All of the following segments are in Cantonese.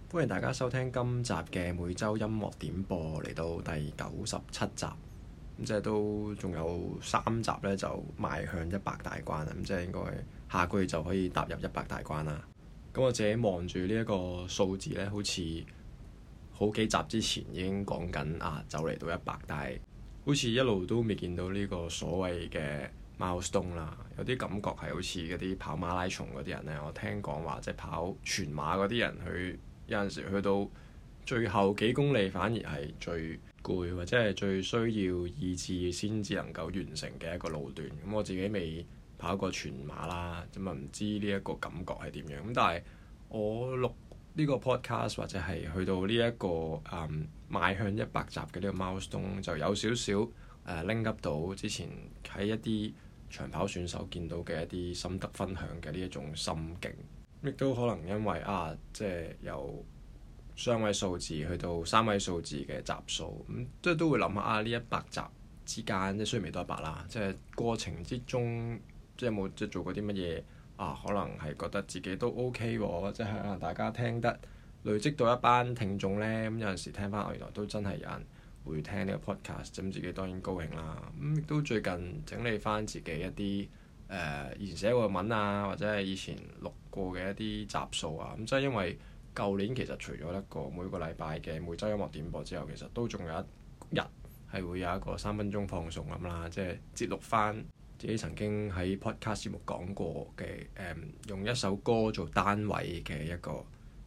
歡迎大家收聽今集嘅每周音樂點播，嚟到第97集，咁即係都仲有3集咧，就邁向100大關啦。咁即係應該下個月就可以踏入100大關啦。咁我自己望住呢一個數字咧，好似好幾集之前已經講緊就嚟到100，但係好似一路都未見到呢個所謂嘅milestone啦。有啲感覺係好似嗰啲跑馬拉松嗰啲人咧，我聽講話即係跑全馬嗰啲人有陣時去到最後幾公里反而係最攰，或者係最需要意志先至能夠完成嘅一個路段。咁我自己未跑過全馬啦，咁啊唔知呢一個感覺係點樣。咁但係我錄呢個 podcast 或者係去到呢一個邁向100集嘅呢個 milestone，就有少少link up 到之前喺一啲長跑選手見到嘅一啲心得分享嘅呢一種心境。亦都可能因為即係由雙位數字去到3位數字嘅集數，咁即係都會諗下呢100集之間，即係雖然未到100啦，即係過程之中即係有冇即係做過啲乜嘢可能係覺得自己都 OK 喎，即係可能大家聽得累積到一班聽眾呢。咁有陣時聽翻原來都真係有人會聽呢個 podcast，咁自己當然高興啦。咁亦都最近整理翻自己一啲以前寫過嘅文或者係以前錄過嘅一啲集數咁即係因為舊年其實除咗一個每個禮拜嘅每週音樂點播之後，其實都仲有一日係會有一個3分鐘放送咁啦，即係節錄翻自己曾經喺 podcast 節目講過嘅用一首歌做單位嘅一個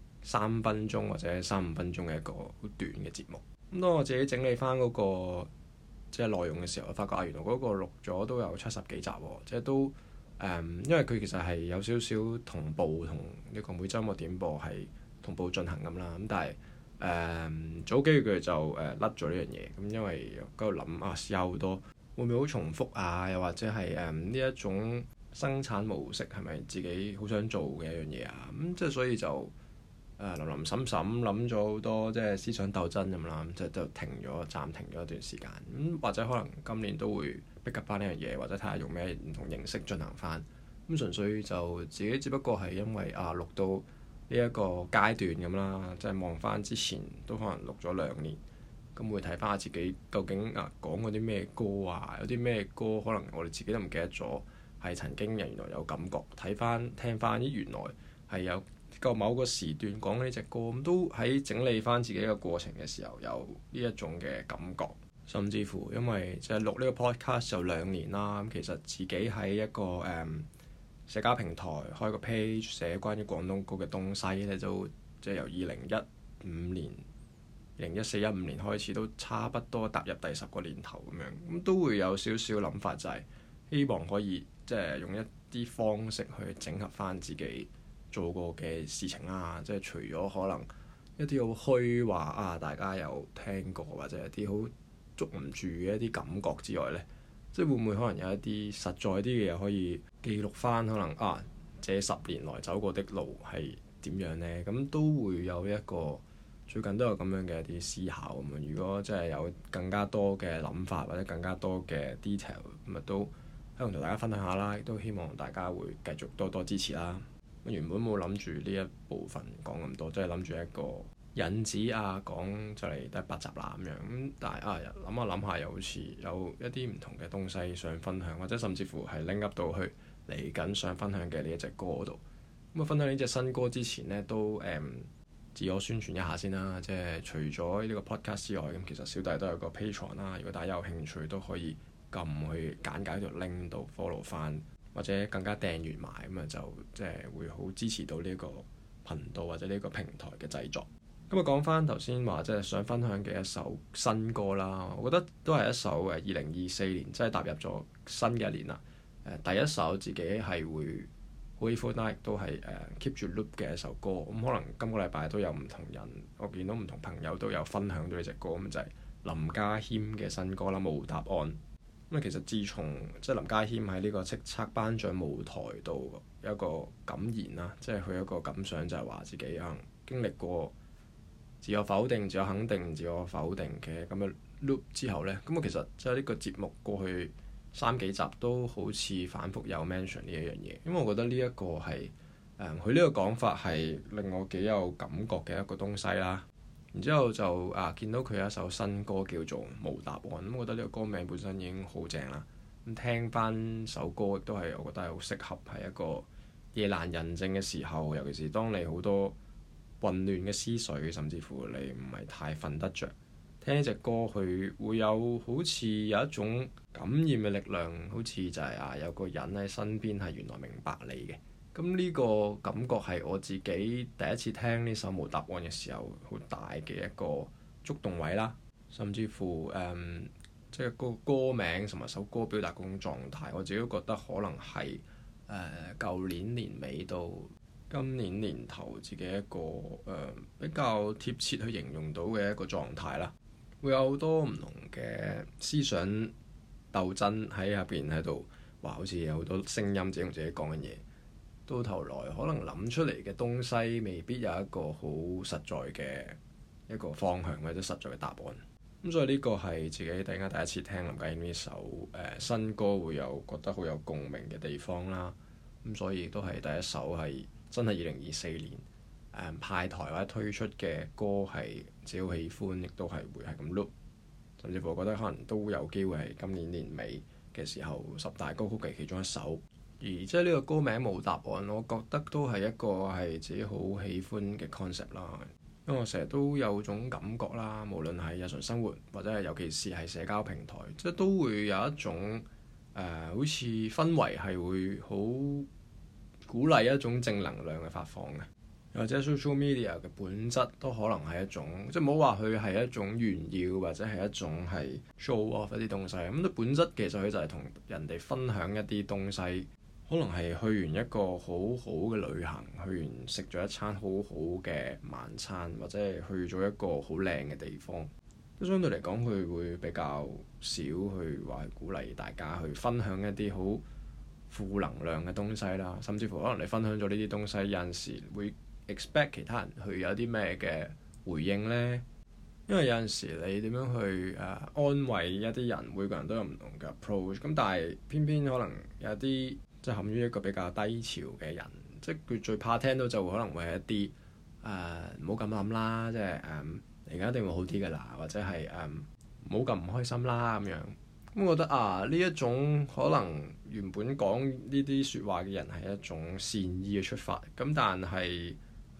3分鐘或者3-5分鐘嘅一個好短嘅節目。咁當我自己整理翻嗰個即係內容嘅時候，我發覺原來嗰個錄咗都有70幾集喎，即係都因為佢其實係有少少同步同呢個每週音樂點播係同步進行咁啦。咁但係早幾個月就甩咗呢樣嘢，咁因為喺度諗試下好多會唔會好重複又或者係呢一種生產模式係咪自己好想做嘅一樣嘢咁即係所以就林林審審諗咗好多即係思想鬥爭咁啦，就暫停咗一段時間。或者可能今年都會逼及翻呢樣嘢，或者睇下用咩唔同形式進行翻。純粹就自己只不過係因為錄到呢一個階段咁啦，即係望翻之前都可能錄咗2年，咁會睇翻下自己究竟講過啲咩歌有啲咩歌可能我哋自己都唔記得咗，係曾經原來有感覺，聽翻原來係有個某個時段講呢隻歌，咁都喺整理翻自己嘅過程嘅時候有呢一種嘅感覺。甚至乎因為即係錄呢個 podcast 就2年啦，咁其實自己喺一個社交平台開個 page 寫關於廣東歌嘅東西咧，都即係由2014、2015年開始，都差不多踏入第10個年頭咁樣，咁都會有少少諗法，就係希望可以即係用一啲方式去整合翻自己做過嘅事情啦，即係除咗可能一啲好虛話大家有聽過或者一啲好捉唔住嘅一啲感覺之外呢，即係會唔會可能有一啲實在啲嘅嘢可以記錄翻，可能這10年來走過的路係點樣呢？咁都會有一個最近都有咁樣嘅一啲思考咁樣。如果真係有更加多嘅諗法或者更加多嘅 detail，咁都喺度同大家分享下啦，亦都希望大家會繼續多多支持啦。原本冇諗住呢一部分講咁多，即係諗住一個引子講就嚟第100集啦咁樣。咁但係諗下又好似有一啲唔同嘅東西想分享，或者甚至乎係拎 up 到去嚟緊想分享嘅呢一隻歌度。咁分享呢隻新歌之前呢，都自我宣傳一下先啦。即係除咗呢個 podcast 之外，咁其實小弟都有個 Patreon 啦。如果大家有興趣都可以撳去簡介條 link 度 follow 翻，或者更加訂閱埋咁就即係會好支持到呢個頻道或者呢個平台嘅製作。咁講翻頭先話即係想分享嘅一首新歌啦，我覺得都係一首2024年即係踏入咗新嘅一年啦。第一首自己係會好喜歡啦，亦都係keep 住 loop 嘅一首歌。咁可能今個禮拜都有唔同人，我見到唔同朋友都有分享到呢隻歌，咁就係林家謙嘅新歌啦，《無答案》。咁其實自從即係林家謙喺呢個叱咤頒獎舞台度有一個感言啦，即係佢一個感想就係話自己經歷過自我否定、自我肯定、自我否定嘅咁嘅 loop 之後呢，咁其實即係呢個節目過去3幾集都好似反覆有 mention 呢一樣嘢，因為我覺得呢一個係佢呢個講法係令我幾有感覺嘅一個東西啦。然之後就見到佢有一首新歌叫做《無答案》，咁我覺得呢個歌名本身已經好正啦。咁聽翻首歌亦都係我覺得係好適合係一個夜闌人靜嘅時候，尤其是當你好多混亂嘅思緒，甚至乎你唔係太瞓得着，聽呢隻歌佢會有好似有一種感染嘅力量，好似就係有個人喺身邊係原來明白你嘅。咁呢個感覺係我自己第一次聽呢首無答案嘅時候，好大嘅一個觸動位啦。甚至乎即係個歌名同埋首歌表達嗰種狀態，我自己都覺得可能係舊年年尾到今年年頭自己一個比較貼切去形容到嘅一個狀態啦。會有好多唔同嘅思想鬥爭喺入邊喺度，話好似有好多聲音自己同自己講緊嘢。到頭來可能諗出嚟嘅東西未必有一個好實在嘅一個方向或者實在嘅答案。咁所以呢個係自己突然間第一次聽林家謙呢首新歌會有覺得好有共鳴嘅地方啦。咁所以都係第一首係真係2024年派台或者推出嘅歌，係自己好喜歡，亦都係會係咁 loop。甚至乎我覺得可能都有機會係今年年尾嘅時候10大歌曲嘅其中一首。而即係呢個歌名無答案，我覺得都係一個係自己好喜歡嘅 concept 啦。因為我成日都有種感覺啦，無論係日常生活或者係尤其是係社交平台，即係都會有一種好似氛圍係會好鼓勵一種正能量嘅發放嘅。或者 social media 嘅本質都可能係一種，即係唔好話佢係一種炫耀或者係一種係 show off 一啲東西。咁佢本質其實佢就係同人哋分享一啲東西。可能係去完一個好好嘅旅行，去完食咗一餐好好嘅晚餐，或者係去咗一個好靚嘅地方。都相對嚟講，佢會比較少去話鼓勵大家去分享一啲好負能量嘅東西啦。甚至乎可能你分享咗呢啲東西，有陣時會 expect 其他人去有啲咩嘅回應呢？因為有陣時你點樣去安慰一啲人，每個人都有唔同嘅 approach。咁但係偏偏可能有啲即係陷於一個比較低潮嘅人，即係佢最怕聽到就可能會係一啲唔好咁諗啦，即係而家一定會好啲㗎啦，或者係唔好咁唔開心啦咁樣。咁我覺得呢一種可能原本講呢啲説話嘅人係一種善意嘅出發，咁但係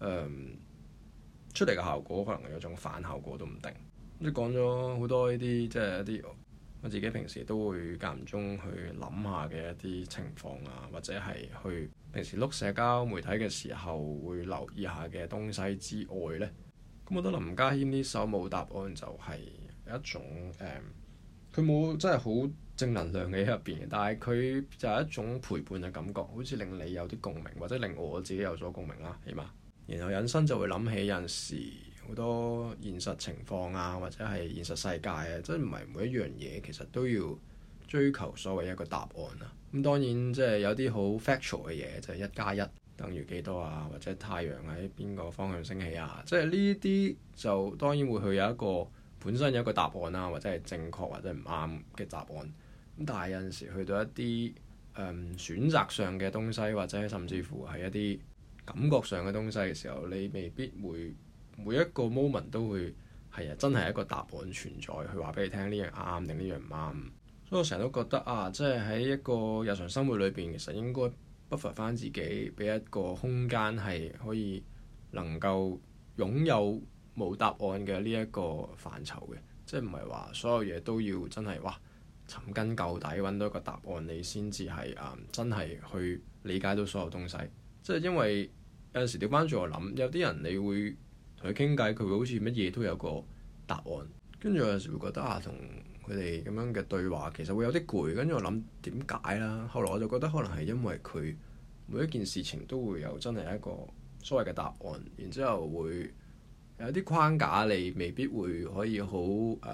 出嚟嘅效果可能有種反效果都唔定。即係講咗好多呢啲，即係一啲我自己平時都會間唔中去諗下嘅一啲情況啊，或者係去平時碌社交媒體嘅時候會留意下嘅東西之外呢。咁我覺得林家謙呢首無答案就係一種佢冇真係好正能量嘅喺入邊，但係佢就係一種陪伴嘅感覺，好似令你有啲共鳴，或者令我自己有所共鳴啦，起碼。然後引申就會諗起有陣時好多現實情況啊，或者係現實世界啊，即係唔係每一樣嘢其實都要追求所謂一個答案啊。咁當然即係有啲好 factual 嘅嘢，就係1+1等於幾多啊，或者太陽喺邊個方向升起啊，即係呢啲就當然會去有一個本身有一個答案啦，或者係正確或者唔啱嘅答案。咁但係有陣時去到一啲選擇上嘅東西，或者甚至乎係一啲感覺上嘅東西嘅時候，你未必會每一個 moment 都會係真係一個答案存在，去話俾你聽呢樣啱定呢樣唔啱。所以我成日都覺得即係喺一個日常生活裏邊，其實應該不乏翻自己，俾一個空間係可以能夠擁有冇答案嘅呢一個範疇嘅，即係唔係話所有嘢都要真係尋根究底揾到一個答案，你先至係真係去理解到所有東西。即係因為有陣時調翻轉我諗，有啲人你會同佢傾偈，佢會好似乜嘢都有個答案，跟住有陣時會覺得同佢哋咁樣嘅對話其實會有啲攰，跟住我諗點解啦？後來我就覺得可能係因為佢每一件事情都會有真係一個所謂嘅答案，然之後會有啲框架，你未必會可以好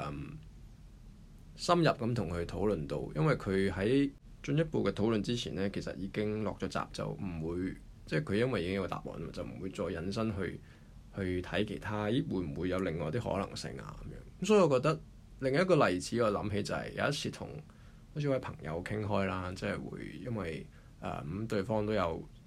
深入咁同佢討論到，因為佢喺進一步嘅討論之前呢，其實已經落咗閘，就唔會即係佢因為已經有個答案，就唔會再引申去睇其他，會唔會有另外啲可能性啊咁樣。咁所以我覺得另一個例子我諗起就係有一次同好似位朋友傾開啦，即係會因為咁對方都有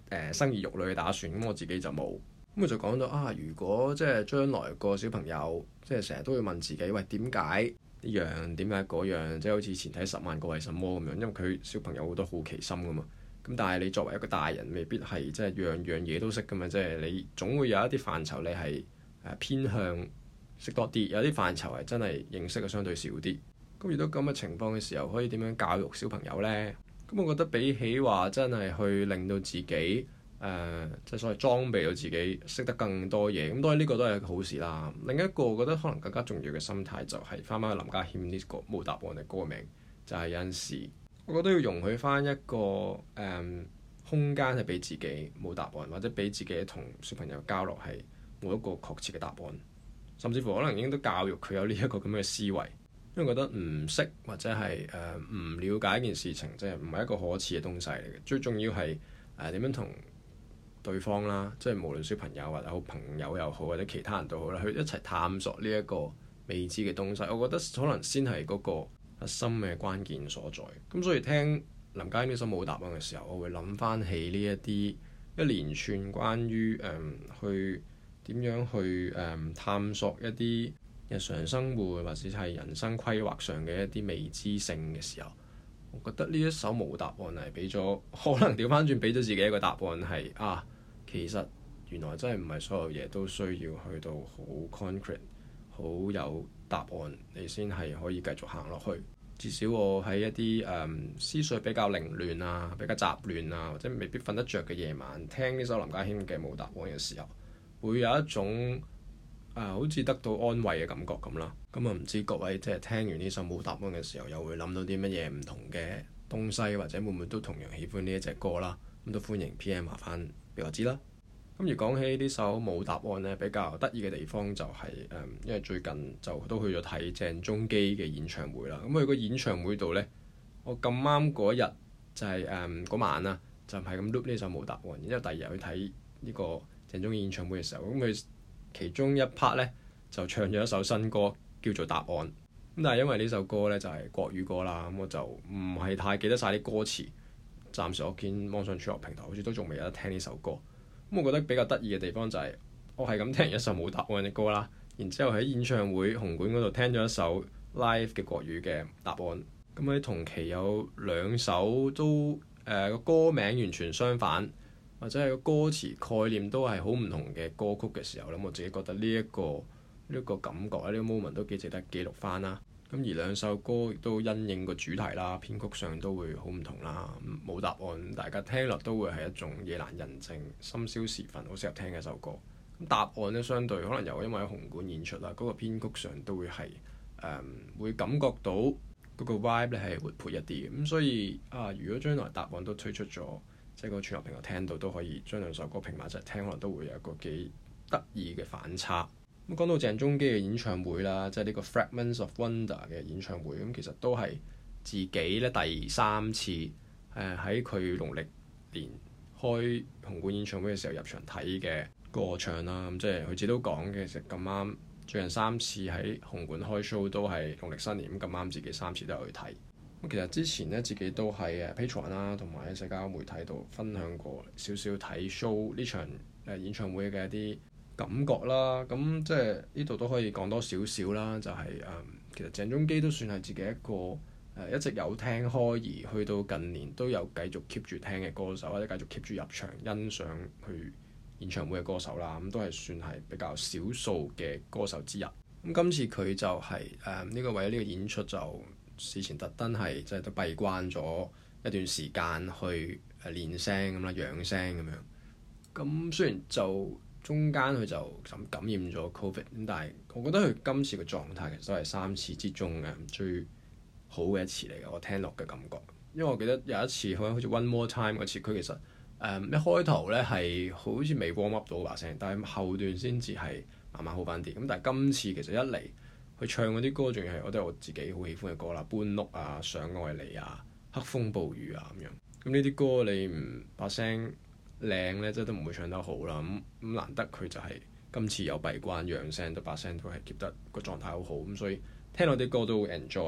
生兒育女嘅打算，咁我自己就冇。咁佢就講到如果即係將來個小朋友即係成日都會問自己，喂，點解呢樣，點解嗰樣，即係好似前睇10萬個為什麼咁樣，因為佢小朋友好多好奇心噶嘛。咁但係你作為一個大人，未必係即係樣樣嘢都識噶嘛，即係你總會有一啲範疇你係偏向識多啲，有啲範疇係真係認識嘅相對少啲。咁遇到咁嘅情況嘅時候，可以點樣教育小朋友呢？咁我覺得比起話真係去令到自己即係所謂裝備到自己識得更多嘢，咁當然呢個都係一個好事啦。另一個我覺得可能更加重要嘅心態就係翻返去林家謙呢個冇答案嘅歌名，就係有陣時我覺得要容許翻一個空間係俾自己冇答案，或者俾自己同小朋友交流係冇一個確切嘅答案，甚至乎可能應該都教育佢有呢一個咁嘅思維。因為覺得唔識或者係唔了解一件事情，即係唔係一個可恥嘅東西嚟嘅。最重要係點樣同對方啦，即係無論小朋友或者好朋友又好，或者其他人都好啦，去一齊探索呢一個未知嘅東西。我覺得可能先係嗰個核心嘅關鍵所在。咁所以聽林家謙呢首冇答案嘅時候，我會諗翻起呢一連串關於去點樣去探索一啲日常生活或者係人生規劃上嘅一啲未知性嘅時候，我覺得呢一首冇答案係俾咗，可能調翻轉俾咗自己一個答案係其實原來真係唔係所有嘢都需要去到好 concrete 好有答案你先係可以繼續行落去。至少我喺一啲思緒比較凌亂啊、比較雜亂啊，或者未必瞓得着嘅夜晚，聽呢首林家謙嘅冇答案嘅時候，會有一種好似得到安慰嘅感覺咁啦。咁唔知各位即係聽完呢首冇答案嘅時候，又會諗到啲乜嘢唔同嘅東西，或者會唔會都同樣喜歡呢一隻歌啦？咁都歡迎 PM 話翻俾我知啦。咁而講起呢首冇答案呢，比較得意嘅地方就係因為最近就都去咗睇鄭中基嘅演唱會啦。咁去個演唱會度呢，我咁啱嗰日就係嗰晚啦，就係咁 loop 呢首冇答案。然之後第二日去睇呢個鄭中基演唱會嘅時候，咁佢其中一 part 呢，就唱咗一首新歌叫做《答案》。咁但係因為呢首歌呢，就係國語歌啦，咁我就唔係太記得晒啲歌詞。暫時我見網上串流平台好似都仲未有得聽呢首歌。咁我覺得比較得意嘅地方就係我係咁聽完一首冇答案嘅歌啦，然之後喺演唱會紅館嗰度聽咗一首 live 嘅國語嘅答案。咁喺同期有兩首都個歌名完全相反，或者係個歌詞概念都係好唔同嘅歌曲嘅時候咧，我自己覺得呢一個感覺呢個 moment 都幾值得記錄翻啦。咁而兩首歌亦都因應個主題啦，編曲上都會好唔同啦。冇答案，大家聽落都會係一種夜闌人靜、深宵時分好適合聽嘅一首歌。咁答案呢，相對可能又因為喺紅館演出啦，嗰個編曲上都會係會感覺到嗰個 vibe 咧係活潑一啲嘅。咁所以如果將來答案都推出咗，即係個串流平台聽到都可以將兩首歌拼埋一齊聽，可能都會有一個幾得意嘅反差。咁講到鄭中基嘅演唱會啦，即係呢個 Fragments of Wonder 嘅演唱會，咁其實都係自己咧第3次喺佢農曆年開紅館演唱會嘅時候入場睇嘅歌唱啦。咁即係佢自己都講嘅，其實咁啱最近3次喺紅館開 show 都係農曆新年，咁啱自己3次都有去睇。咁其實之前咧自己都喺Patreon 啦，同埋喺社交媒體度分享過少少睇 show 呢場演唱會嘅一啲感覺啦。咁即係呢度都可以講多少少啦，就係其實鄭中基都算係自己一個一直有聽開而去到近年都有繼續 keep 住聽嘅歌手，或者繼續 keep 住入場欣賞去演唱會嘅歌手啦。咁都係算係比較少數嘅歌手之一。咁今次佢就係呢個為咗呢個演出就事前特登係即係都閉關咗一段時間去練聲咁啦，養聲咁樣。咁雖然就中間佢就感染咗 Covid， 咁但係我覺得佢今次嘅狀態其實都係3次之中嘅最好嘅一次嚟嘅，我聽落嘅感覺。因為我記得有一次好似 One More Time 嗰次，佢其實一開頭咧係好似未 warm up 到把聲，但係後段先至係慢慢好翻啲。咁但係今次其實一嚟佢唱嗰啲歌，仲要係我覺得我自己好喜歡嘅歌啦，搬屋啊、想愛你啊、黑風暴雨啊咁樣。咁呢啲歌你唔把聲靚咧，即係都唔會唱得好啦。咁難得佢就係今次有閉關養聲，把聲都係 keep 得個狀態好好。咁所以聽落啲歌都會 enjoy 嘅。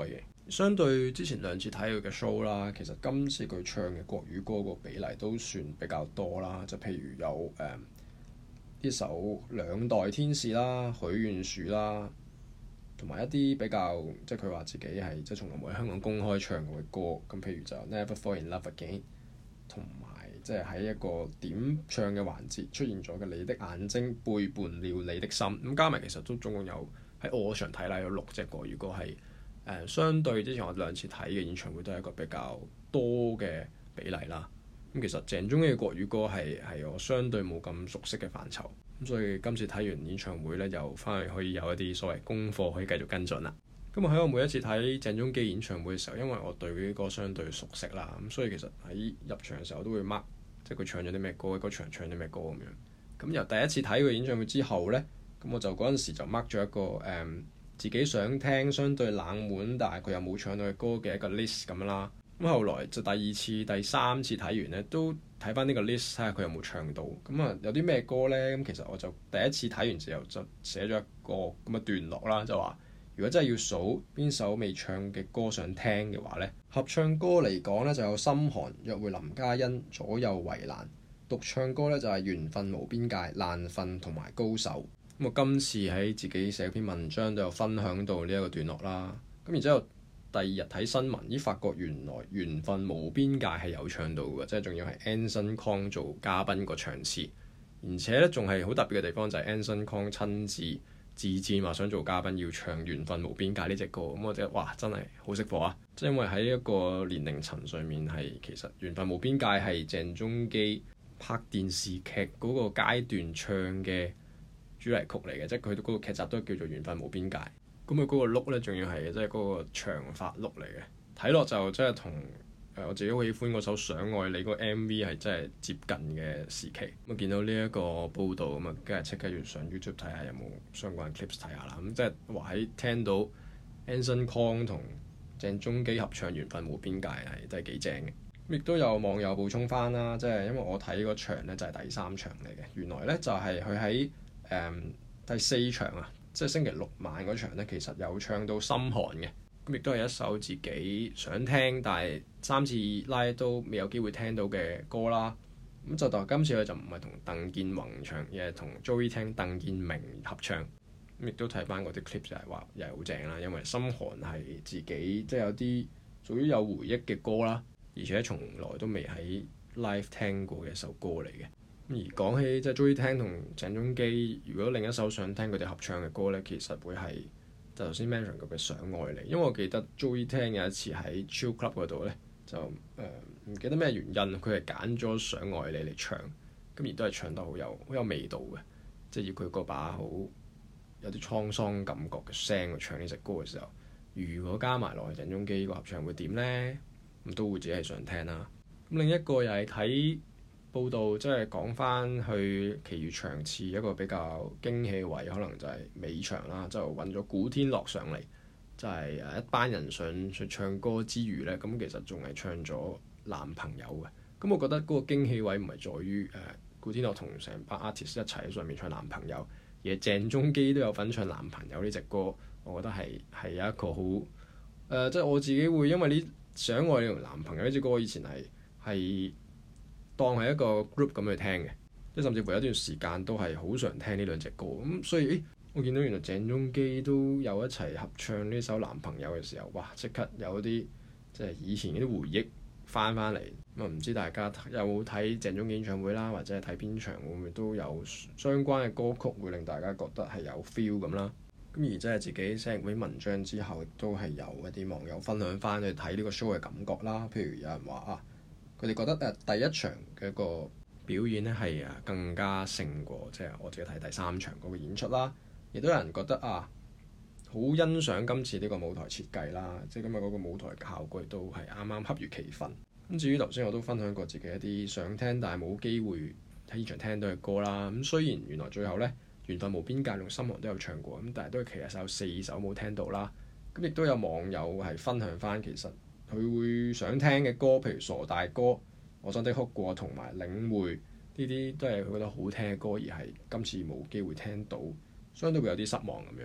相對之前兩次睇佢嘅 show 啦，其實今次佢唱嘅國語歌個比例都算比較多啦。就譬如有呢首《兩代天使》啦、許願樹啦，同埋一啲比較即係佢話自己係即係從來冇喺香港公開唱過嘅歌。咁譬如就 Never Fall in Love Again， 同埋即係喺一個點唱嘅環節出現咗嘅你的眼睛背叛了你的心。咁加埋其實都總共有喺我場睇啦，有6隻國語歌係。相對之前我兩次睇嘅演唱會都係一個比較多嘅比例啦。咁其實鄭中基嘅國語歌係我相對冇咁熟悉嘅範疇，咁所以今次睇完演唱會咧，又翻去可以有一啲所謂功課可以繼續跟進啦。咁喺我每一次睇鄭中基演唱會嘅時候，因為我對佢啲歌相對熟悉啦，咁所以其實喺入場嘅時候都會 mark 即係佢唱咗啲咩歌，嗰場唱啲咩歌咁樣。咁由第一次睇佢演唱會之後咧，咁我就嗰陣時就 mark 咗一個自己想聽相對冷門，但係佢又冇唱到嘅歌嘅一個 list 咁啦。咁後來就第2次、第3次睇完咧，都睇翻呢個 list 睇下佢有冇唱到。咁啊有啲咩歌咧？咁其實我就第一次睇完之後就寫咗一個咁嘅段落啦，就話如果真係要數邊首未唱嘅歌想聽嘅話咧，合唱歌嚟講咧就有心寒、約會林嘉欣、左右為難。獨唱歌咧就係緣分無邊界、爛瞓同埋高手。咁我今次喺自己寫篇文章都有分享到呢一個段落啦。咁然之後第2日睇新聞，發覺原來緣分無邊界係有唱到嘅，即係仲要係 Anson Kong 做嘉賓個唱詞，而且咧仲係好特別嘅地方就係 Anson Kong 親自自薦話想做嘉賓要唱緣分無邊界呢隻歌。咁我覺得哇真係好識貨啊！即係因為喺一個年齡層上面係其實緣分無邊界係鄭中基拍電視劇嗰個階段唱嘅主題曲嚟嘅，即係佢嗰個劇集都叫做緣分無邊界。咁佢嗰個 look 咧，仲要係即係嗰個長髮 look 嚟嘅，睇落就真係同我自己好喜歡嗰首想愛你嗰個 MV 係真係接近嘅時期。咁見到呢一個報導咁啊，梗係即刻要上 YouTube 睇下有冇相關 clips 睇下啦。咁即係話喺聽到 Anson Kong 同鄭中基合唱緣分無邊界係真係幾正嘅。亦都有網友補充翻啦，即係因為我睇嗰場咧就係第3場嚟嘅，原來咧就係佢喺第4場啊，即係星期6晚嗰場咧，其實有唱到心寒嘅，咁亦都係一首自己想聽但係3次拉都未有機會聽到嘅歌啦。咁就但今次佢就唔係同鄧健泓唱，而係同 Joey 聽鄧健明合唱。咁亦都睇翻嗰啲 clip 就係話又係好正啦，因為心寒係自己即係有啲屬於有回憶嘅歌啦。而且從來都未喺 live 聽過嘅一首歌嚟嘅。而講起即係 Joey 聽同鄭中基，如果另一首想聽佢哋合唱嘅歌咧，其實會係就頭先 mention 過嘅想愛你。因為我記得 Joey 聽有一次喺 Chill Club 嗰度咧，就唔記得咩原因，佢係揀咗想愛你嚟唱，咁而都係唱得好有味道嘅，即係要佢嗰把好有啲滄桑感覺嘅聲去唱呢隻歌嘅時候，如果加埋落去鄭中基個合唱會點咧？咁都會自己係想聽啦。咁另一個又係睇報道，即係講翻去其餘場次一個比較驚喜嘅位，可能就係尾場啦，就揾咗古天樂上嚟，就係一班人上去唱歌之餘呢，咁其實仲係唱咗男朋友嘅。咁我覺得嗰個驚喜位唔係在於古天樂同成班 artist 一齊喺上面唱男朋友，而係鄭中基都有份唱男朋友呢隻歌。我覺得係有一個好即係我自己會因為呢。想愛你同男朋友呢隻歌，我以前係當係一個 group 咁去聽嘅，即係甚至乎有一段時間都係好常聽呢兩隻歌。咁所以我見到原來鄭中基都有一齊合唱呢首男朋友嘅時候，哇！即刻有啲即係以前嗰啲回憶翻嚟。咁啊唔知大家有冇睇鄭中基演唱會啦，或者係睇邊場會唔會都有相關嘅歌曲會令大家覺得係有 feel 咁啦。咁而即係自己寫完嗰啲文章之後，都係有一啲網友分享翻去睇呢個 show 嘅感覺啦。譬如有人話佢哋覺得第一場嘅一個表演咧係更加勝過即係我自己睇第3場嗰個演出啦。亦都有人覺得好欣賞今次呢個舞台設計啦，即係今日嗰個舞台效果都係啱啱恰如其分。咁至於頭先我都分享過自己一啲想聽但係冇機會喺現場聽到嘅歌啦。咁雖然原來最後咧，緣分無邊界同心寒都有唱過，咁但係都其實有4首冇聽到啦。咁亦都有網友係分享翻，其實佢會想聽嘅歌，譬如傻大哥、我真的哭過同埋領會呢啲，都係佢覺得好聽嘅歌，而係今次冇機會聽到，相對會有啲失望咁樣嘅。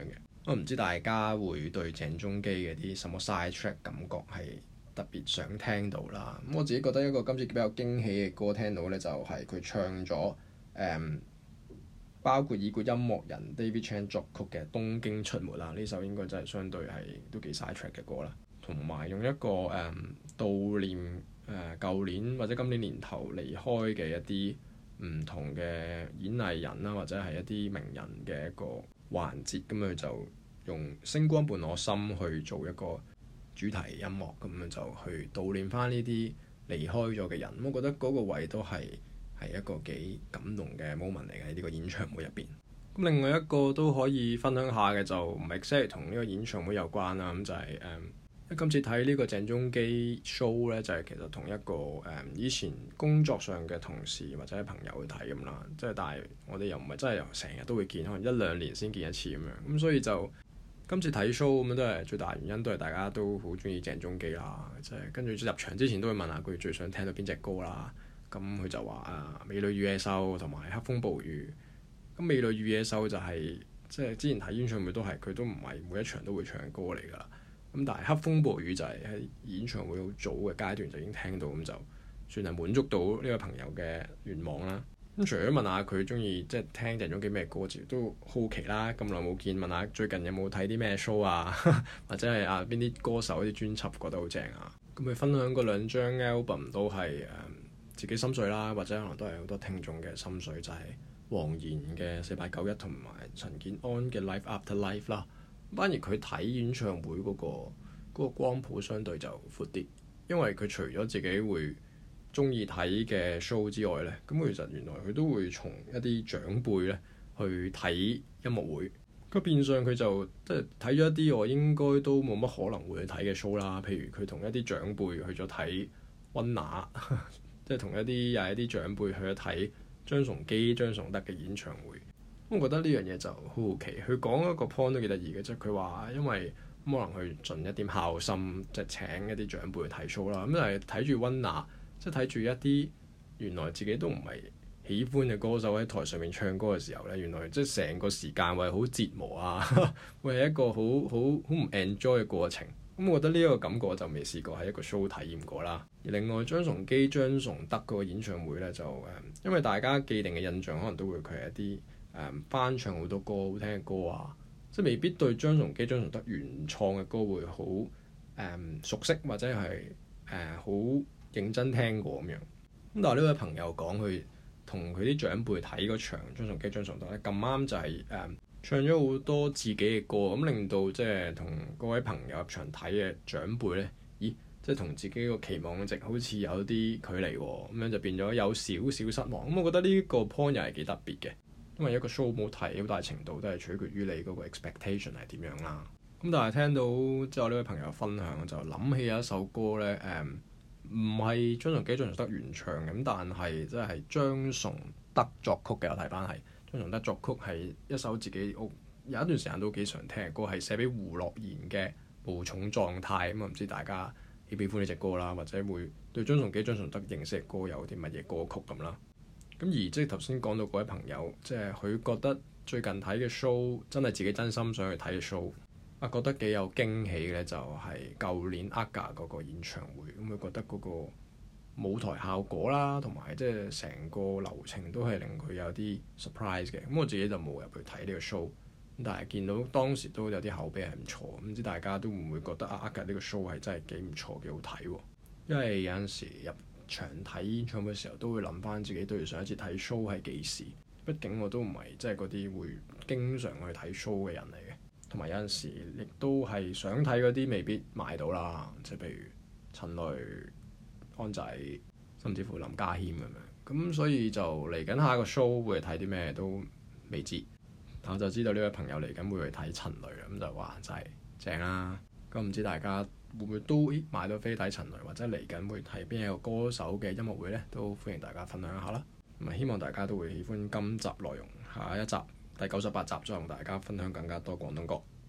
我唔知大家會對鄭中基嘅啲什麼 side track 感覺係特別想聽到啦。咁我自己覺得一個今次比較驚喜嘅歌聽到呢，就係佢唱咗包括已故音樂人 David Chan 作曲嘅《東京出沒》啦。呢首應該真係相對係都幾 side track 嘅歌啦。同埋用一個悼念舊年或者今年年頭離開嘅一啲唔同嘅演藝人啦，或者係一啲名人嘅一個環節，咁佢就用星光伴我心去做一個主題音樂，咁樣就去悼念翻呢啲離開咗嘅人。我覺得嗰個位都係一個幾感動嘅 moment 嚟嘅，喺呢個演唱會入邊。咁另外一個都可以分享下嘅就唔係 exactly 同呢個演唱會有關啦，咁就係今次睇呢個鄭中基 show 咧，就係其實同一個以前工作上嘅同事或者朋友去睇咁啦，即係但係我哋又唔係真係成日都會見，可能一兩年先見一次咁樣，咁所以就今次睇 show 咁樣都係最大原因都係大家都好中意鄭中基啦，即係跟住入場之前都會問下佢最想聽到邊隻歌啦，咁佢就話美女與野獸同埋黑風暴雨，咁美女與野獸就係即係之前睇演唱會都係佢都唔係每一場都會唱嘅歌嚟㗎啦。咁但係黑風暴雨就係喺演唱會好早嘅階段就已經聽到，咁就算係滿足到呢個朋友嘅願望啦。咁除咗問下佢中意即係聽鄭中基咩歌之外，都好奇啦。咁耐冇見，問下最近有冇睇啲咩 show 啊，或者係邊啲歌手啲專輯覺得好正啊。咁佢分享嗰兩張 album 都係自己心水啦，或者可能都係好多聽眾嘅心水，就係黃妍嘅4891同埋陳建安嘅 Life After Life 啦。反而佢睇演唱會嗰個光譜相對就闊啲，因為佢除咗自己會中意睇嘅 show 之外呢，咁其實原來佢都會從一啲長輩呢去睇音樂會。咁變相佢就即係睇咗一啲我應該都冇乜可能會去睇嘅 show 啦。譬如佢同一啲長輩去咗睇溫拿，即係同一啲又係一啲長輩去咗睇張崇基、張崇德嘅演唱會。我覺得呢樣嘢就好好奇，佢講一個 point 都幾得意嘅，即係佢話因為可能去盡一點孝心，即係請一啲長輩去睇 show 啦。咁就係睇住溫拿，即係睇住一啲原來自己都唔係喜歡嘅歌手喺台上面唱歌嘅時候咧，原來即係成個時間會好折磨啊，會係一個好唔 enjoy 嘅過程。咁我覺得呢一個感覺我就未試過喺一個 show 體驗過啦。而另外張崇基、張崇德嗰個演唱會咧，就因為大家既定嘅印象可能都會佢係一啲翻唱好多歌好聽嘅歌啊，即係未必對張崇基、張崇德原創嘅歌會好熟悉或者係好認真聽過咁樣。咁但係呢位朋友講佢同佢啲長輩睇嗰場張崇基、張崇德咧，咁啱就係唱咗好多自己嘅歌，咁令到即係同各位朋友入場睇嘅長輩咧，咦，即係同自己個期望值好似有啲距離喎，咁樣就變咗有少少失望。咁我覺得呢個 point 又係幾特別嘅。因為一個 show 冇睇，好大程度都係取決於你嗰個 expectation 係點樣啦。咁但係聽到之後呢位朋友分享，就諗起有一首歌咧，唔係張崇基、張崇德原唱嘅，咁但係即係張崇德作曲嘅。我睇翻係張崇德作曲，係一首自己有一段時間都幾常聽嘅歌，係寫俾胡樂妍嘅《無重狀態》。咁唔知大家喜唔喜歡呢隻歌啦，或者會對張崇基、張崇德認識嘅歌有啲乜嘢歌曲咁啦。咁而即係頭先講到嗰位朋友，即係佢覺得最近睇嘅 show 真係自己真心想去睇嘅 show，覺得幾有驚喜嘅就係舊年 AGA 嗰個演唱會。咁佢覺得嗰個舞台效果啦，同埋即係成個流程都係令佢有啲 surprise 嘅。咁我自己就冇入去睇呢個 show，但係見到當時都有啲口碑係唔錯。唔知大家都會唔會覺得AGA呢個 show 係真係幾唔錯，幾好睇喎？因為有陣時入場睇演唱會嘅時候，都會諗翻自己對上一次睇 show 係幾時。畢竟我都唔係即係嗰啲會經常去睇 show 嘅人嚟嘅，同埋有陣時亦都係想睇嗰啲未必買到啦，即係譬如陳雷、安仔，甚至乎林家謙咁樣。咁所以就嚟緊下一個 show 會睇啲咩都未知，但我就知道呢位朋友嚟緊會去睇陳雷啦，咁就話就係正啦。咁唔知大家會唔會都買到飛睇陳雷，或者嚟緊會睇邊一個歌手嘅音樂會呢？都歡迎大家分享一下啦。咁希望大家都會喜歡今集內容，下一集第98集再同大家分享更加多廣東歌。